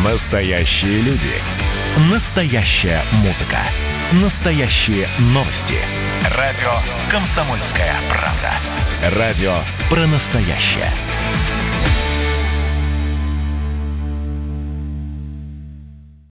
Настоящие люди. Настоящая музыка. Настоящие новости. Радио «Комсомольская правда». Радио про настоящее.